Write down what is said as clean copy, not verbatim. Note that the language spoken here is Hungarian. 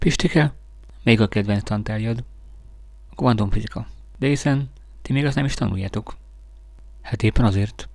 Pistike, még a kedvenc tantárgyad. A kvantumfizika. De hiszen ti még azt nem is tanuljátok. Hát éppen azért.